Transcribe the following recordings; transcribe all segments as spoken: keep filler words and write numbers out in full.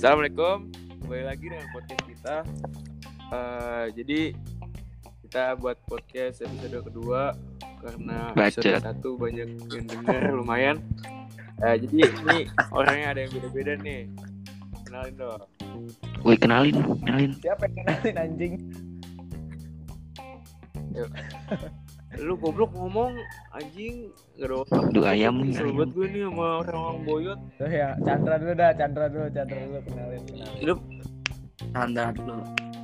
Assalamualaikum, kembali lagi dengan podcast kita. Uh, jadi kita buat podcast episode kedua karena episode Baca. satu banyak yang dengar lumayan. Uh, jadi ini orangnya ada yang beda-beda nih. Kenalin dong. Woi kenalin, kenalin. Siapa yang kenalin anjing? Yuk. Lu goblok ngomong anjing gak ada otak. Aduh ayam nih. Sobat gue nih sama orang-orang boyot. Tuh ya, Chandra dulu dah, Chandra dulu, Chandra dulu kenalin. kenalin. Hidup Tanda dulu.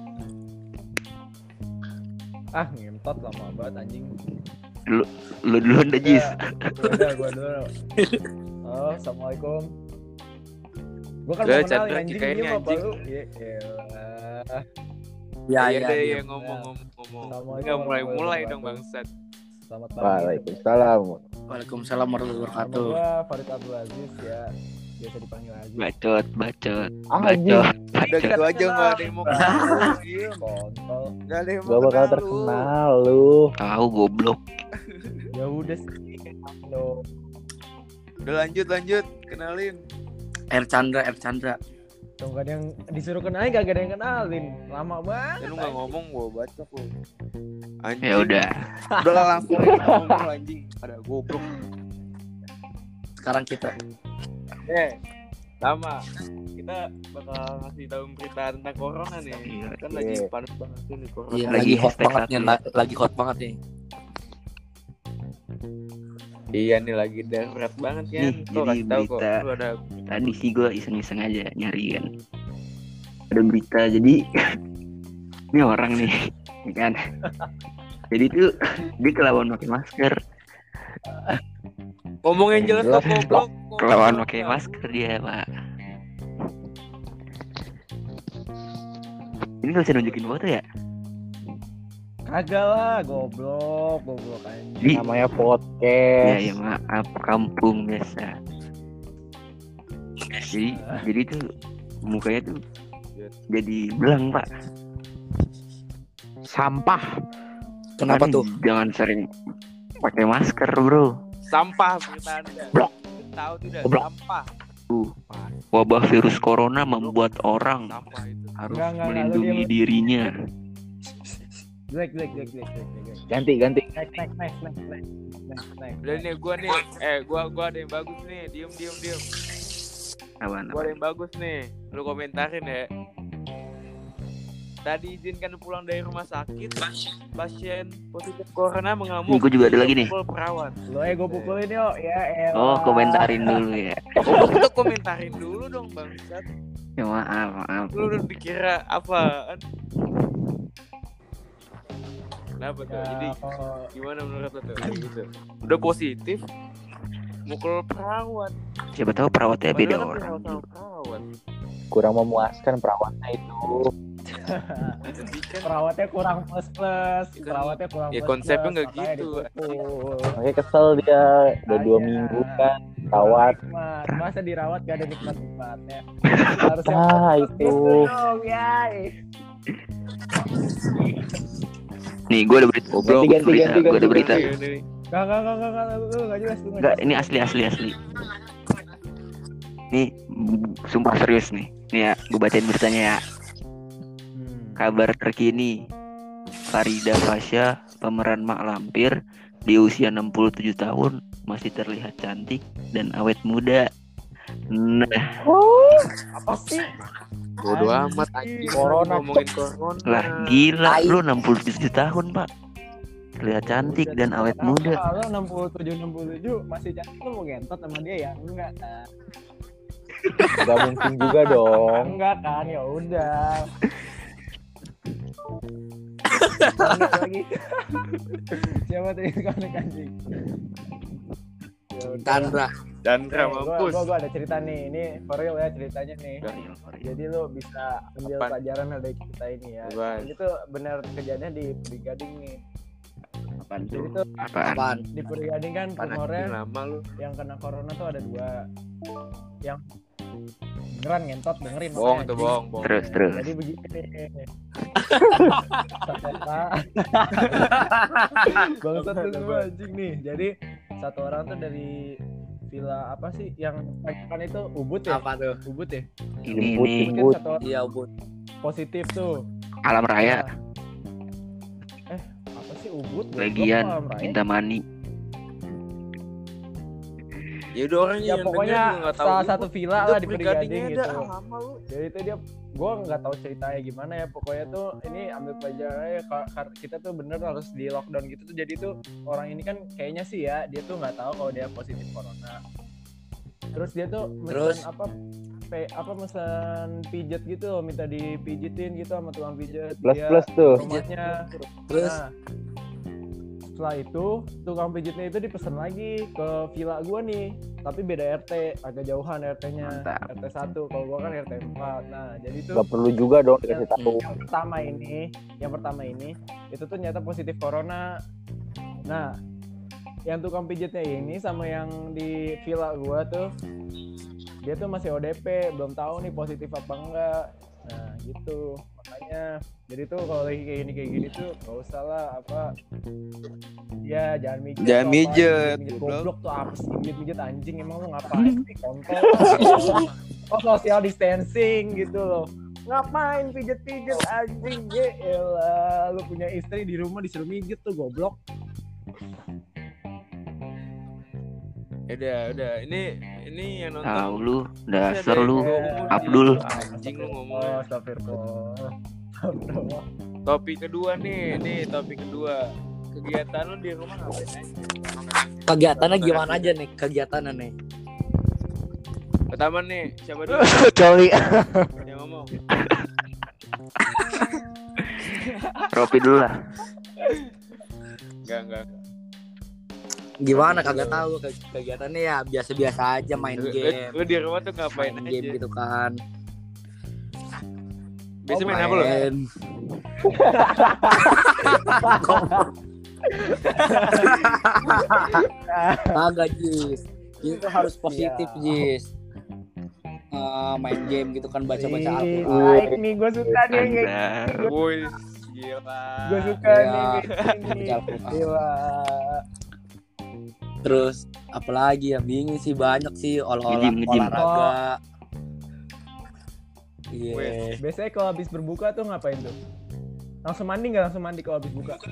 Ah, ngentot lama banget anjing. Lu lu duluan dah Jis. Udah, gua dulu. Oh, assalamualaikum. Gua kan Udah, mau kenalin Chandra, anjing kikain dia nih, mah anjing. baru. Ya elah. ya Ya, ya ya, deh ya. ya ngomong-ngomong-ngomong. Assalamualaikum Enggak mulai-mulai warahmatullahi dong bangsat. Selamat pagi. Waalaikumsalam. Waalaikumsalam warahmatullahi Nama wabarakatuh. gua Farid Abdul Aziz ya. Biasa dipanggil Aziz. Bacot, bacot, Anjing. bacot, Udah bacot. gitu aja enggak ada yang mau kenal. Diem. Kontol. Enggak ada yang mau Gak bakal kenal lu. terkenal lu. Tahu goblok. Ya udah sih. Lo. Udah lanjut lanjut kenalin. R Chandra, R Chandra. Tuh gak ada yang disuruh kenalin, gak ada yang kenalin. Lama banget. Ya lu enggak ngomong gua baca lu. Anjing. Ya udah. Udah lah, langsung aja ngomong anjing. Ada goblok. Sekarang kita Eh, sama. Kita bakal ngasih tahu berita tentang corona nih. Iya, Kan iya. lagi panas banget nih corona. iya, Lagi lagi hot hashtag banget satu nih, ya. la- lagi hot banget nih. Iya nih lagi darurat banget kan. Nih, Tuh jadi kasih tahu kok. berita. Lu ada Tadi sih gue iseng-iseng aja nyari kan. Ada berita jadi ini orang nih, ya kan. Jadi tuh dia kelawan pakai masker, ngomong yang jelas kok Jelas. goblok. kelawan pakai masker dia pak. Ini nggak bisa nunjukin foto ya? Kagak lah, goblok, goblok anjing. Di Namanya ya podcast. ya maaf kampung biasa. Jadi jadi tuh mukanya tuh jadi belang pak. Sampah. Kenapa Kan tuh? Jangan sering pakai masker bro. Sampah berita Anda. Blok. Tahu tidak Blok. sampah. Wabah virus corona membuat orang Sampah itu. harus Enggak, enggak, enggak, lu melindungi diam. dirinya. Black, black, black, black, black, black. Ganti ganti. Next, next, next, next, next, next, next. Udah nih gua nih. Eh gua gua ada yang bagus nih. Diem diem diem. Apaan? Gua ada yang bagus nih. Lu komentarin ya. Tadi izinkan pulang dari rumah sakit. Pasien positif corona mengamuk. Nih, gua juga ada lagi nih. Pukul perawat. Lo eh gue pukulin yuk, ya elah. Oh komentarin dulu ya. Oh, kita komentarin dulu dong bangsat. Ya maaf maaf. Lu udah dikira apaan? Kenapa tuh? Ya, Jadi oh, gimana menurut lo tuh? Kayak gitu. Udah positif, mukul perawat. Siapa tahu perawatnya beda Padahal kan orang. perawat sama perawat. Kurang memuaskan perawatnya itu. Jadi kan perawatnya kurang plus plus, Kan- perawatnya kurang ya plus konsepnya plus, nggak makanya gitu. dipukul. Makanya kesel dia. Udah dua Makanya. minggu kan rawat. Nikmat. Masa dirawat gak ada nikmat-nikmatnya. Harusnya Ah, plus itu. gitu dong, yay. Nih gue ada berita. Ganti, ganti, berita. ganti, Gue ada ganti, berita. Iya, nih. Gak, gak, gak, gak, gak, lu gak jelas, lu Enggak, ini asli asli asli. Nih b- sumpah serius nih. Nih ya, gue bacain beritanya ya. Hmm. Kabar terkini, Farida Fasya, pemeran Mak Lampir, di usia enam puluh tujuh tahun masih terlihat cantik dan awet muda. Nah, Apa sih? Bodo Anjing. amat anjing. Corona, ngomongin corona. lah gila lu enam puluh tujuh tahun pak, terlihat cantik dan awet muda. Kalau enam puluh tujuh enam puluh tujuh masih cantik, lu mau gentot sama dia ya? Enggak. Nah, Gak mungkin juga dong. enggak kan, ya udah. Enggak lagi. Siapa tadi konek anjing? Ya udah. Chandra. Chandra Eh, gua, mampus. gua, gua ada cerita nih, ini for real ya ceritanya nih. Jadi lu bisa ambil Apaan? pelajaran dari cerita ini ya. Apaan? Ini tuh benar kejadian di Puri Gading nih. Apaan Jadi tuh? tuh Apaan? Apaan? di Puri Gading kan Anjing rumornya lama lu. yang kena corona tuh ada dua. Yang beneran ngentot dengerin Bohong makanya, tuh, anjing. bohong, bohong. Terus terus. Jadi begini nih. Bangsat lu semua anjing nih. Jadi satu orang tuh dari villa apa sih yang kan itu Ubud ya? Apa tuh? Ubud ya? Ini Jemput, nih Mungkin jemput. satu orang Iya, Ubud. positif tuh. Alam Raya, Nah, eh apa sih Ubud? Goblok, bagian Alam Raya. minta mani. Ya udah orang Ya yang pokoknya denger juga nggak tahu salah Ubud. satu villa Itu lah di Brigadingnya Brigading ada gitu. lama lu. Jadi itu dia, gue nggak tahu ceritanya gimana ya. Pokoknya tuh ini ambil pelajarannya ka- ka- kita tuh bener harus di lockdown gitu tuh. Jadi tuh orang ini kan kayaknya sih ya dia tuh nggak tahu kalau dia positif corona. Terus dia tuh mesen Terus? apa pe, apa mesen pijet gitu loh, minta dipijitin gitu sama tukang pijet. Plus Dia plus tuh. rumahnya. Terus Nah, setelah itu tukang pijitnya itu dipesen lagi ke villa gua nih, tapi beda R T, agak jauhan R T-nya. Mantap. R T satu, kalau gua kan R T empat. Nah, jadi tuh Gak perlu juga dong yang, dikasih tahu. yang pertama ini, yang pertama ini itu tuh ternyata positif corona. Nah, yang tukang pijitnya ini sama yang di villa gua tuh dia tuh masih O D P, belum tahu nih positif apa enggak. Nah, gitu. Makanya jadi tuh kalau lagi kayak gini kayak gini tuh gak usah lah apa ya jangan mijet Jangan tuh apa, mijet, mijet goblok. goblok tuh apa sih mijet-mijet anjing, emang lu ngapain sih kontol. Oh, social distancing gitu loh, ngapain pijet-pijet anjing. Ya elah, lu punya istri di rumah disuruh mijet tuh goblok. Ya udah, udah. Ini ini yang nonton. Tahu lu, Masih ada dasar yang lu. ngomong Abdul. gitu. Anjing lu ngomong. Oh, astagfirullah. Astagfirullah. Topik kedua nih, nih topik kedua. Kegiatan lu di rumah ngapain aja? kegiatannya gimana aja nih? Kegiatannya nih. Pertama nih, siapa dulu Coli. yang ngomong? Ropi dulu lah. Enggak, enggak. Gimana kagak tahu ke- kegiatannya ya biasa-biasa aja, main Lu, lu, game. lu di rumah tuh ngapain Main aja? game gitu kan. Biasa Oh, main apa lu? Main. Kagak, Jis. Itu harus positif, Jis. Eh, main game gitu kan, baca-baca Ih, Al-Quran. baik nih, gue suka nih yang kayak Anda. Woi, gila. gue suka Iya, nih yang kayak gini. baca Al-Quran. Gila. Terus apalagi ya, bingung sih, banyak sih olah Nge-gym, nge-gym. olahraga. Iya. Weh. Biasanya kalau habis berbuka tuh ngapain tuh? Langsung mandi nggak? Langsung mandi kalau habis buka?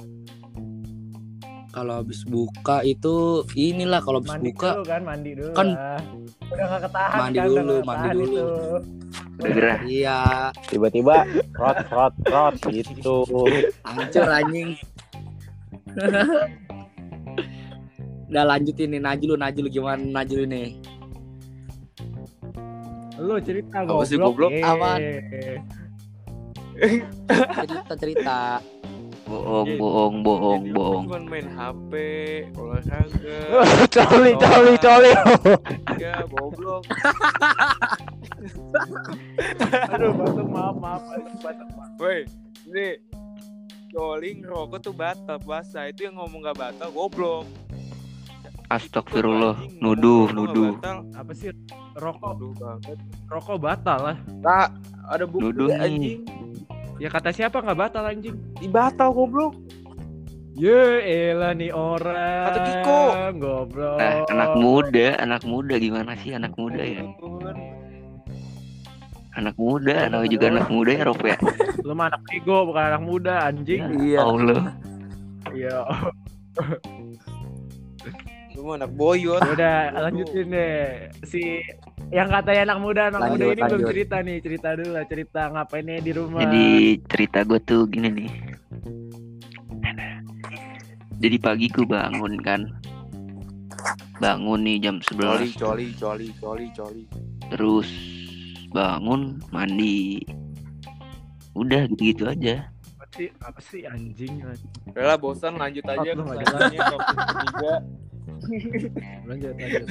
Kalau habis buka itu inilah kalau habis Mandi buka dulu kan, mandi dulu Kan- lah. Udah gak ketahan Mandi kan, dulu, udah nggak mandi ketahan dulu. itu. Udah gerah. iya Tiba-tiba rot rot rot gitu. hancur anjing. Udah lanjutin nih, Najul, Najul gimana Najul nih? Lu cerita Apa sih, goblok. goblok? Eh. Aman. Cerita cerita. Bohong, Jadi- bohong, bohong, Jadi lu bohong. cuma main H P, olahraga. Coli, coli, coli. Ya, goblok. Aduh, batuk, maaf, maaf. Aduh, batuk, maaf. Woi, ini Joling rokok tuh batal puasa. Itu yang ngomong gak batal, goblok. Astagfirullah. Anjing, Nuduh, ngomong nuduh. nggak batal. Apa sih? Rokok, Nuduh banget. rokok batal lah. Nah, ada bukti Nuduh nih. anjing. Ya kata siapa nggak batal anjing? Dibatal goblok. Ye, elah nih orang. Kata Kiko. Goblok. Nah, anak muda, anak muda gimana sih anak muda ya? Anak muda, namanya juga anak muda ya, Rob ya. Lu mah anak ego, bukan anak muda anjing. Iya. Allah. Iya. Lu mah anak boyot. Udah lanjutin deh. Si yang katanya anak muda, anak Lanjut, muda ini belum lanjut. cerita nih. Cerita dulu lah, cerita ngapainnya di rumah. Jadi cerita gue tuh gini nih. Jadi pagi gue bangun kan. Bangun nih jam Coli, sebelas. coli, coli, coli, coli. Terus bangun, mandi. Udah gitu-gitu aja. apa sih? Apa sih anjing? Udah lah, bosan, lanjut aja Oh, ke lu nggak selanjutnya, topik ketiga. Lanjut, lanjut.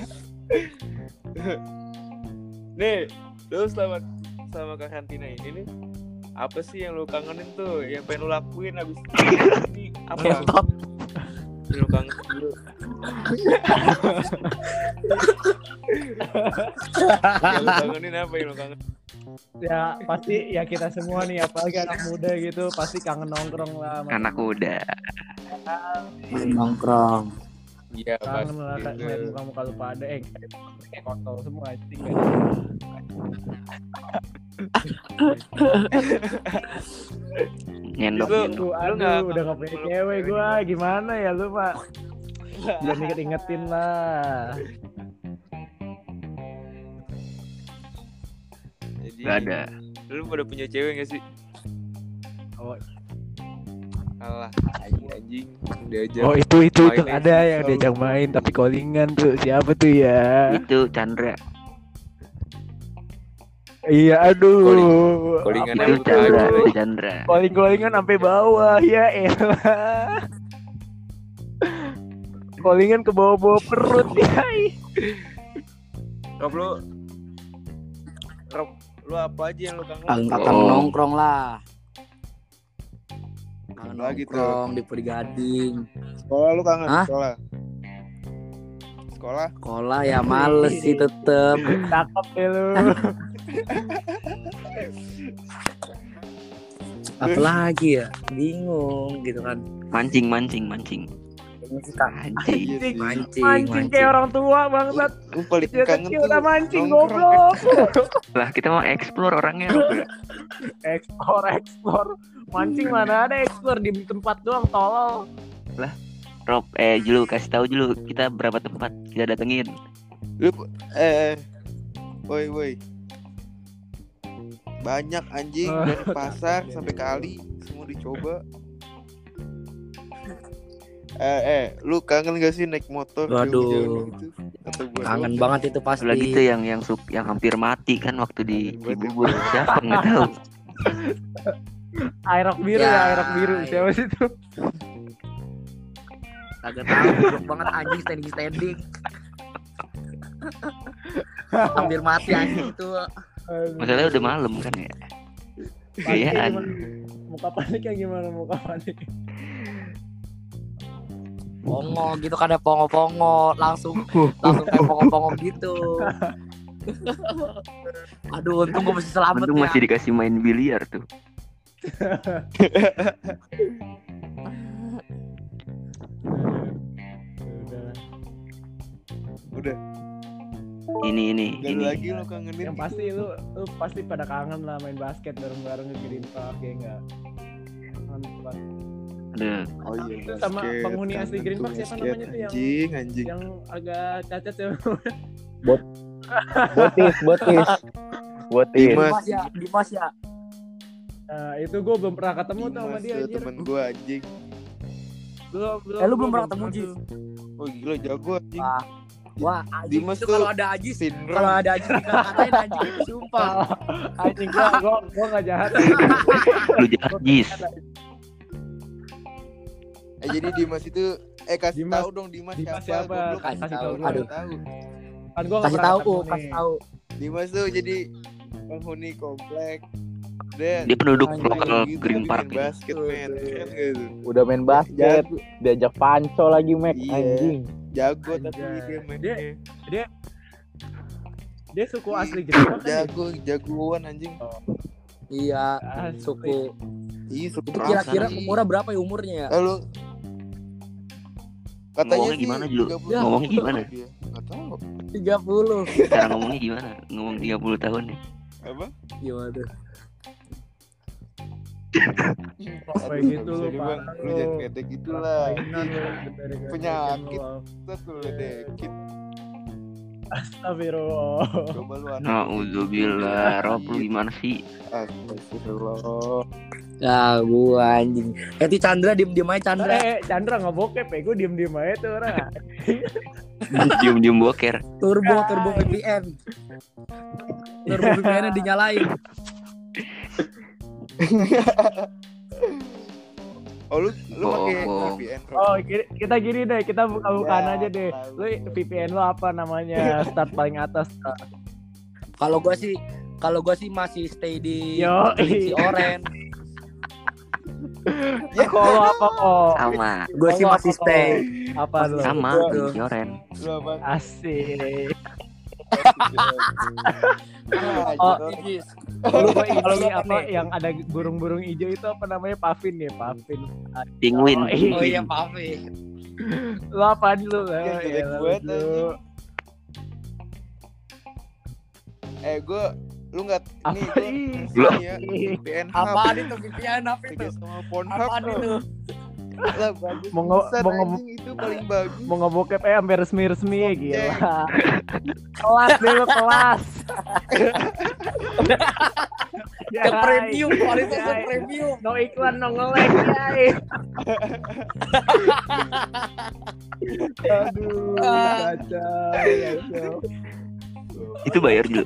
Nih, lu selama selama karantina ini nih, apa sih yang lu kangenin tuh? Yang pengen lu lakuin abis ini apa? Ngentot. Yang lu kangenin dulu. Yang lu kangenin apa yang lu kangenin? Ya pasti ya kita semua nih, apalagi anak muda gitu, pasti kangen nongkrong lah. sama Anak muda. Nongkrong. Iya, pas. Kangen lah gitu. ngeliat muka-muka lu pada eh kayak kontol semua anjing. Nyendok Lu- nyendok. Aduh, Lu aduh nggak udah gak punya cewek gua. Gimana ya lu, Pak? Belum inget-ingetin lah. Jadi, Gak ada. lu pada punya cewek gak sih? Oh, Alah, anjing anjing diajak. oh itu itu itu main ada futsal. yang diajak main tapi callingan tuh. Siapa tuh ya? Itu Chandra. Iya, aduh. Callingan Apa Itu Itu Chandra. aja. Itu Chandra. Calling-callingan sampai bawah ya elah. Callingan ke bawah-bawah perut ya. Rob, lu Rob, lu apa aja yang lu kangen? Angkatan Oh. nongkrong lah. Kangen Lagi tuh. nongkrong di Perigading. Sekolah lu kangen? Hah? Sekolah. Sekolah. Sekolah ya males sih tetep. Cakep deh lu. Apalagi ya? Bingung gitu kan. Mancing mancing mancing. Ini sih Kak. Anjing. Iya Mancing, Mancing kayak orang tua bangsat. Lu paling Dia kangen kecil tuh udah mancing nongkrong. goblok. Lah kita mau explore orangnya. Rob. Ekspor ekspor. Mancing mana ada ekspor di tempat doang tolol. Rob, eh Julu kasih tahu Julu kita berapa tempat kita datengin. Lu eh woi woi. Banyak anjing dari pasar sampai kali semua dicoba. Eh eh, lu kangen gak sih naik motor Waduh. jauh-jauh gitu? Atau gua Kangen doang? banget itu pasti. Lagi tuh yang yang sup yang hampir mati kan waktu di Kangen banget. Cibubur. Siapa nggak tahu. Airok biru Ya, ya, airok biru. iya. Siapa sih itu? Kagak tahu, goblok banget anjing standing standing. Hampir mati anjing itu. Masalahnya udah malam kan ya. Paniknya Gayaan. gimana? Muka paniknya gimana muka panik? Pongo gitu kan ada pongo-pongo langsung langsung kayak pongo-pongo gitu. Aduh untung gue masih selamat Untung ya. masih dikasih main biliar tuh. Udah, Ini ini gak ada ini. lagi lu kangenin. Yang pasti lu lu pasti pada kangen lah main basket bareng-bareng ke Green Park ya enggak? Mantap. Ada Oh iya, Itu sama basket. penghuni asli Kangen Green tuh Park siapa basket. namanya tuh yang- Anjing, anjing. Yang agak cacat ya. Botis, botis. Botis. Dimas. Dimas ya, Dimas ya. Nah, itu gue belum pernah ketemu tuh sama Dimas dia tuh anjir. temen gua anjing. Belum, belum. Eh, lu gua belum pernah ketemu, Ji? tuh. Oh gila jago anjing. Wah, wah anjing Dimas itu tuh kalau ada Ajis, Sindrom. kalau ada Ajis dikata-katain anjing itu sumpah. Anjing gua gua gua enggak jahat. lu jahat Jis. Eh jadi Dimas itu eh kasih Dimas- tahu dong Dimas, Dimas siapa? siapa? Goblok. Kasih Kasih tahu. tahu gua. Aduh. Tahu. Kan gua nggak Kasih pernah tahu, ketemu kasih nih. tahu. Dimas tuh jadi penghuni komplek. Dia Dia penduduk anjing lokal gitu, Green tapi Park main ini. basket men. Keren gak tuh? Udah main basket, Jago, diajak panco lagi Mac, Iya. anjing. jago tapi Anjay. dia mainnya. Dia suku asli Green Park kan? ya? Jago, jagoan anjing. Iya, Asli. suku. Ih, suka Itu kira-kira sih. umurnya berapa ya umurnya ya? Lalu katanya Ngomongnya sih gimana, Ju? tiga puluh Ngomongnya tahun gimana? dia. Nggak tahu. tiga puluh. Cara ngomongnya gimana? Ngomong tiga puluh tahun nih. Apa? Gimana? Kayak Aduh, gitu nggak lu, bisa deh, Bang. parah Lu lu. jangan kayak gitu lah. Mainan lu, dari Penyakit. lu. Kita tuh ledekin. Astagfirullah. Coba lu anak. Nauzubillah, Rob lu gimana sih? Astagfirullah. Ya gua anjing. Eh itu Chandra diem-diem aja Chandra. Eh, Chandra nggak bokep ya, gue diem-diem aja tuh orang. Diem-diem boker. Turbo, turbo V P N. Turbo V P N-nya dinyalain. Oh lu lu pakai Bohong. V P N. Oh, ki- kita gini deh, kita buka-bukaan Ya, aja deh. tahu. Lu V P N lu apa namanya? Start paling atas. Kalau gua sih kalau gua sih masih stay di Yo, si Oren. Ya kalau apa kok? Sama, Gua sih Kalau masih apa, stay. kok? Apa lu? sama Gua- di Yoren. Lu apa? Asik. Ah, Oh, gitu. Lu kok Kalau ini lu apa nih. yang ada burung-burung hijau itu apa namanya? Pavin ya, Pavin. Penguin. Oh, iya. Oh iya, Pavi. Lu apaan lu? Ya, Oh, jelek iyalah, banget, lu. anjing. Eh gue lu nggak Apa nih gue ih? Belum. ya V P N Hub Apaan itu V P N apa itu? kerja sama Pornhub Apaan itu? lah bagus Mau nge- pisan, mau nge- anjing itu paling bagus. Mau ngebokep eh sampai resmi-resmi ya Oke. gila. Kelas deh lu kelas. Yang premium, kualitas yang Yai. premium. No iklan, no nge-lag, yai. Aduh, Ah. kacau, kacau. Itu bayar dulu.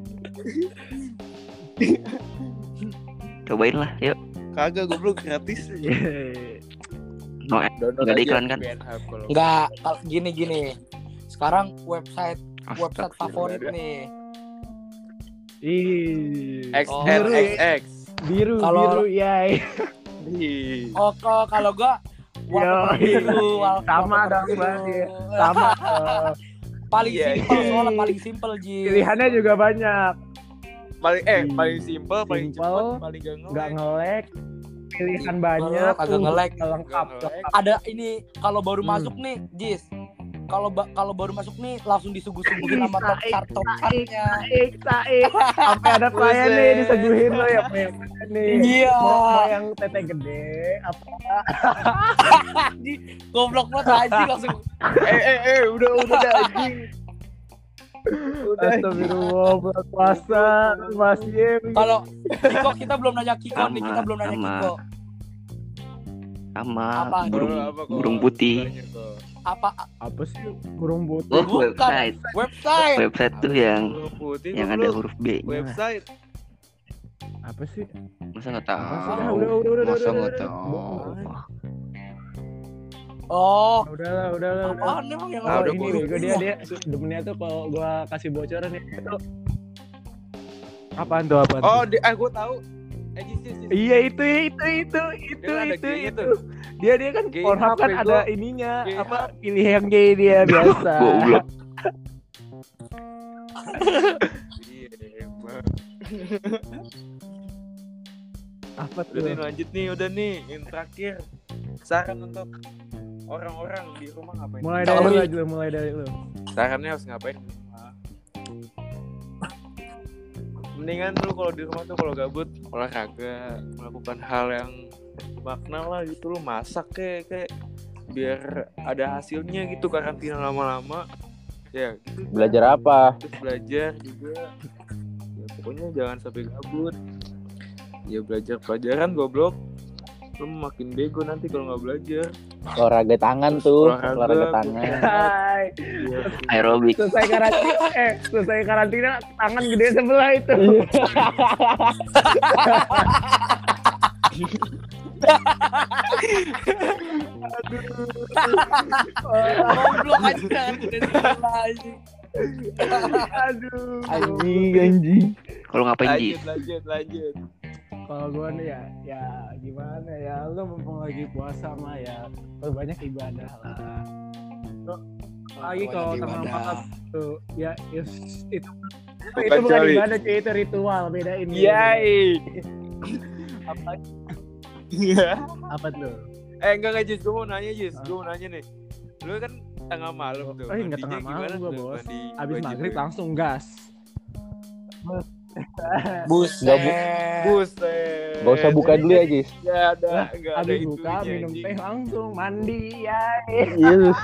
Cobain lah, yuk. Kagak goblok gratis. Yeay. No, Download nggak ada aja iklan kan? V P N Hub kalau Enggak, kalau gini gini. Sekarang website website Astagfirullah. favorit nih. Ih. X Oh. X X X. Biru, Kalau- biru, yai. Ih. Oh, kok- kalau gua wallpaper Yo, biru, wall- sama wallpaper dong, biru. berarti. Sama. eh, Paling Iya, simpel iya. soalnya paling simpel Ji. pilihannya juga banyak. Paling eh Ih. paling simple, paling Simple, cepat, paling gak Nggak nge nge-lag. Pilihan Simple, banyak. kagak uh, nge-lag. Lengkap. Nggak nge-lag. Ada ini kalau baru Hmm. masuk nih, Jis. Kalau ba- kalau baru masuk nih langsung disuguh-suguhin sama top Saik, chart top saik, chartnya. saik, saik. Sampai ada pelayan nih Buset. diseguhin lo ya, mau yang mana nih? Iya. Mau, mau yang tete gede apa? Goblok banget anjing langsung. eh eh eh udah udah dah anjing. Udah. Astagfirullah, bulan puasa masih. Kalau Kiko kita belum nanya Kiko nih, Sama, kita belum nanya sama. Kiko. Sama Apa? burung Kalau apa, kok? burung putih. Tanya, kok. Apa Apa sih burung putih? Oh, Bukan. website. website? Website tuh yang Burung putih yang goblok. ada huruf B. Website. Apa sih? Masa nggak Apa sih? tahu? Ah, udah, udah, udah, Masa udah, nggak udah, tahu? udah. Oh, Udahlah, udahlah, udah. apaan emang yang Ah, Oh, udah, ini burung bego dia dia demennya tuh kalau gua kasih bocoran nih itu apaan tuh apaan Oh, tuh? di, ah gue tahu. Eh, Jis, Jis, Jis. Iya itu itu itu itu Dia ada itu G-nya itu. tuh. Dia dia kan G Pornhub apa kan itu? ada ininya G apa apa? pilih yang gay dia biasa. Goblok. Iya, emang. Apa Udah nih tuh? lanjut nih, udah nih yang terakhir. Saran untuk orang-orang di rumah ngapain? Mulai dari Kalau lu lu- aja lu, mulai dari lu. Sarannya harus ngapain? Mendingan lu kalau di rumah tuh kalau gabut olahraga, melakukan hal yang makna lah gitu, lu masak kayak kayak biar ada hasilnya gitu, karantina lama-lama ya gitu. Belajar apa? Terus belajar juga ya, pokoknya jangan sampai gabut ya, belajar pelajaran goblok, lu makin bego nanti kalau nggak belajar. Olahraga tangan tuh, Olahraga, olahraga tangan. Hai. Ya, Aerobik. Selesai karantina eh selesai karantina tangan gede sebelah itu. goblok aja kan udah sebelah anjing. Aduh. Anjing, anjing. Kalau ngapain Ji? lanjut lanjut lanjut. Kalau gue nih ya, ya gimana ya, lu mumpung lagi puasa mah ya, banyak ibadah lah. Lo- Lagi kalau Banyak tengah ibadah. malam tuh, ya is, itu Bukan itu bukan coli. ibadah cuy, itu ritual, beda ini. Yai. Apa, Iya. apa tuh? Eh enggak enggak Jis, gue mau nanya Jis, gue mau nanya nih. Lu kan tengah malam tuh. Oh, enggak mandinya tengah malam gimana gua, tuh? Bos. Mandi Abis wajib maghrib ya? langsung gas. Buset. Buset. Gak usah buka dulu ya, Jis. Ya ada, enggak ada Abis itu. buka minum teh langsung mandi ya. Yes.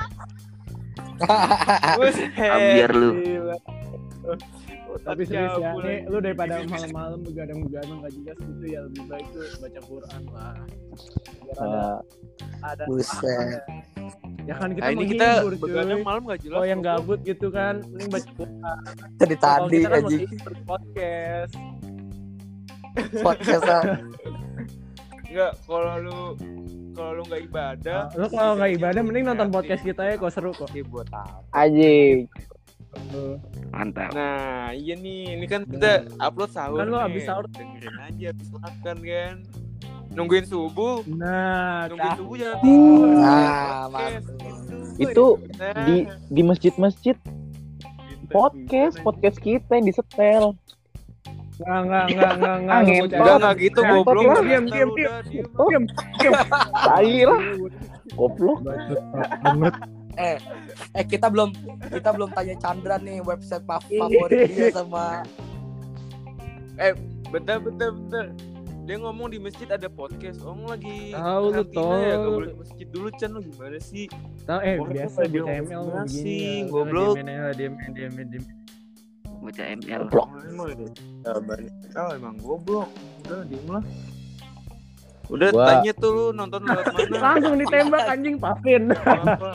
Buset. Biar lu. Gila. Tapi serius ya, Cabul, nih anjing. lu daripada malam-malam begadang-begadang gak jelas gitu ya, lebih baik tuh baca Quran lah. Biar ada Uh, ada Buset. ya kan kita Nah, ini kita menghibur begadang cuy. malam gak jelas. Oh yang goblok. gabut gitu kan, mending baca Quran. Tadi Kalau tadi kita kan anjing masih podcast. podcast ah. Enggak, kalau lu kalau lu enggak ibadah, Lu kalau nggak ibadah mending nonton podcast kita ya, kok seru kok. Oke, buat apa? anjing. Tuh. Mantap. Nah, iya nih, ini kan kita upload sahur. Kan lu nih. habis sahur. Dengerin aja habis makan kan. Nungguin subuh, Nah, nungguin cah. subuh jangan tidur. Nah, Podcast, mantap. Itu Nah, di di masjid-masjid pinter, podcast, pinter. podcast kita yang disetel. Nggak, nggak, nggak, nggak, nggak. Ah, Lu ngentot. bocah. Enggak enggak gitu Ngentot goblok. lah. Diam, diam, Udah, diam. diam. Diam, diam. Tai lah. Goblok. banget. Eh, eh kita belum kita belum tanya Chandra nih website fa- favorit dia sama. Eh, bentar, bentar, bentar. Dia ngomong di masjid ada podcast. Om lagi Tahu lu, karantina ya, tol. gak boleh ke masjid dulu, Chan. Lu gimana sih? Tahu eh Orang biasa tuh di pada M L ngomong begini sih, ya. goblok. Diem diem diem diem. Bocah M L. Goblok. Emang ya, banyak. Oh, emang goblok. Udah, diem lah. Udah, Gua- tanya tuh lu nonton lewat mana? Langsung ditembak anjing Pavin. Apa?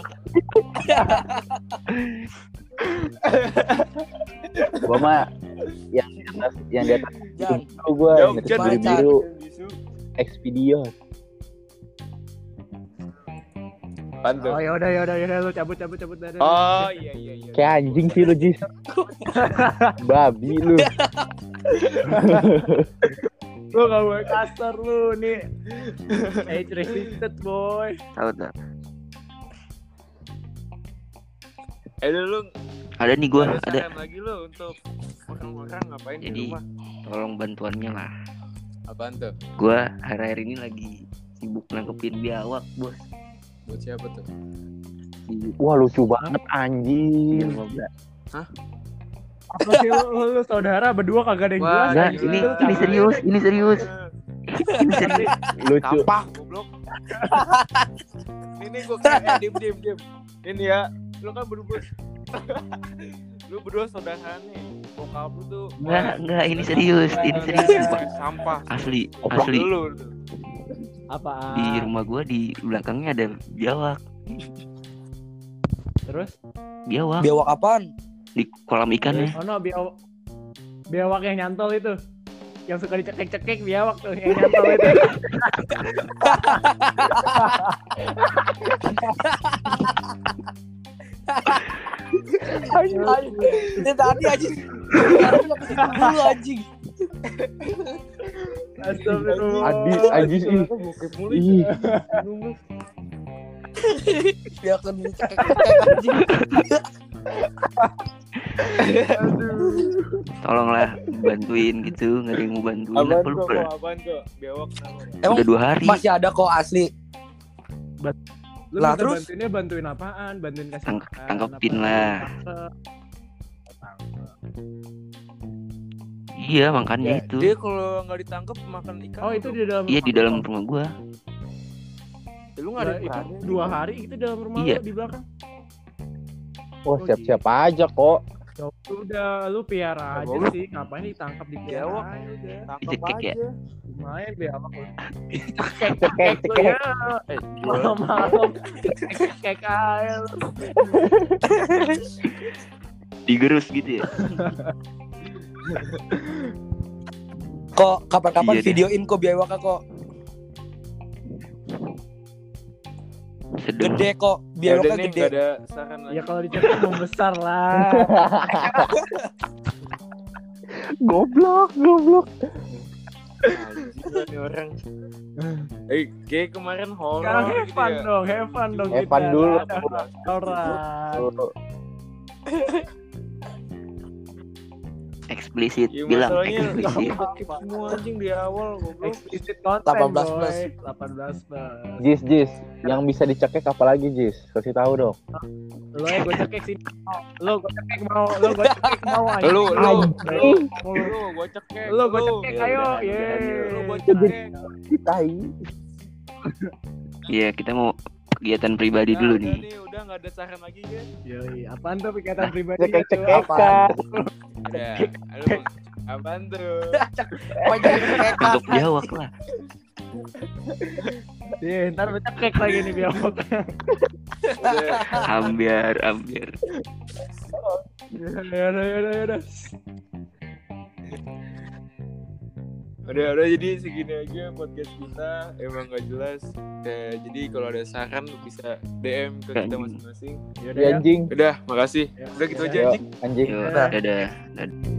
Gua mah yang di atas, yang di atas Jan, itu gua Jauh, yang Jan, biru Jan. biru Bisu. Expedia. Apaan tuh? Oh ya udah ya udah ya udah lu cabut cabut cabut dari. Oh, iya, iya, iya. Kayak anjing sih lu Jis. Babi lu. Lu gak boleh kasar lu nih. Age restricted boy. Tahu tak? Eh, lu Ada nih gua, ada ada. saran lagi lu untuk orang-orang ngapain di Jadi rumah? tolong bantuannya lah. Apaan tuh? Gua hari-hari ini lagi sibuk nangkepin biawak, Bos. Buat siapa tuh? Di Wah lucu banget di anjing. rumah gua. Apa sih lu, lu, lu saudara berdua kagak ada yang Wah, jelas. Enggak, gila. ini ini serius, ini serius. Ini serius. Lucu. Sampah, goblok. Ini gua kayak eh, diem diem diem. Ini ya, lu kan berdua. Lu berdua saudara nih. Bokap lu tuh Enggak, enggak, ini serius, ini serius. Sumpah. sampah. Asli, Goblok asli. Dulu tuh. Apaan? Di rumah gua di belakangnya ada biawak. Terus? Biawak biawak apaan? di kolam ikannya. Oh no, biawak biawak yang nyantol itu. Yang suka dicekek-cekek biawak tuh yang nyantol itu. Ayo, ayo. Ini tadi aja. Sekarang udah kesini dulu anjing. Astagfirullah. Adi anjing ih. Bokep mulu. Ih. Dia akan cekek-cekek anjing. Tolonglah bantuin gitu, nggak ada yang mau bantuin. Apaan Apa lu kok? ber- Apaan kok? Biawak kenapa? Emang Udah dua hari. masih ada kok asli. Lu Lah, minta terus? bantuinnya bantuin apaan? Bantuin kasih Tang- makan, tangkepin apa? lah. Tangkep. Iya makanya Ya, itu. dia kalau nggak ditangkap makan ikan. Oh itu di dalam Iya di rumah dalam lu? rumah gua. Ya, lu nggak ada Lah, itu perannya. dua hari itu dalam rumah Iya. lu di belakang. Wah siap-siap aja kok. Ya udah lu piara Ya, aja goblok. sih, ngapain ditangkap di Biawak. piara udah. Tangkap Dicekek ya? aja. Lumayan biawak lu. Cekek Cekek lu cekek. ya. Eh, Malam-malam cekek aja lu. Digerus gitu ya. Kok kapan-kapan Iya deh. videoin kok biawaknya kok. Sedih. Gede kok, ya udah biawaknya nih, gede. nggak ada saran lagi. Ya kalau dicekek membesar lah. Goblok goblok. Anjing lah nih orang. Eh, kayak kemarin horor. Sekarang have gitu fun ya. dong, have fun dong Have kita. fun dulu. Ada horor. Eksplisit, Ya, bilang masalahnya eksplisit. bokep semua anjing di awal goblok. Explicit content delapan belas boy. plus. delapan belas plus. Jis Jis, yang bisa dicekek apa lagi Jis? Kasih tahu dong. Lo ya gue cekek sih. Lo gue cekek mau, lo gue cekek mau aja. Lu, lu, Anjing. lu, lu, gua cekek. Lo gue lu. cekek Ya ayo, udah, ye. Lu, gua cekek. Citai. Iya kita mau kegiatan pribadi Udah, dulu udah nih. nih, udah nggak ada saran lagi ya. Yoi, apaan tuh pikiran pribadi Cekek itu? cekekan. Udah. Lu, apaan tuh? Pokoknya cekek. Untuk biawak lah. Iya, ntar gue cekek lagi nih biawak. Udah. Ambiar, ambiar. Ya udah, ya udah, ya udah. Udah, udah jadi segini aja podcast kita. Emang nggak jelas. Ya, jadi kalau ada saran lu bisa D M ke kita masing-masing. Ya udah Ya ya. anjing. Udah, makasih. Ya, Udah gitu ya. aja Yo, anjing. anjing. Yo, Udah. dadah. Dadah.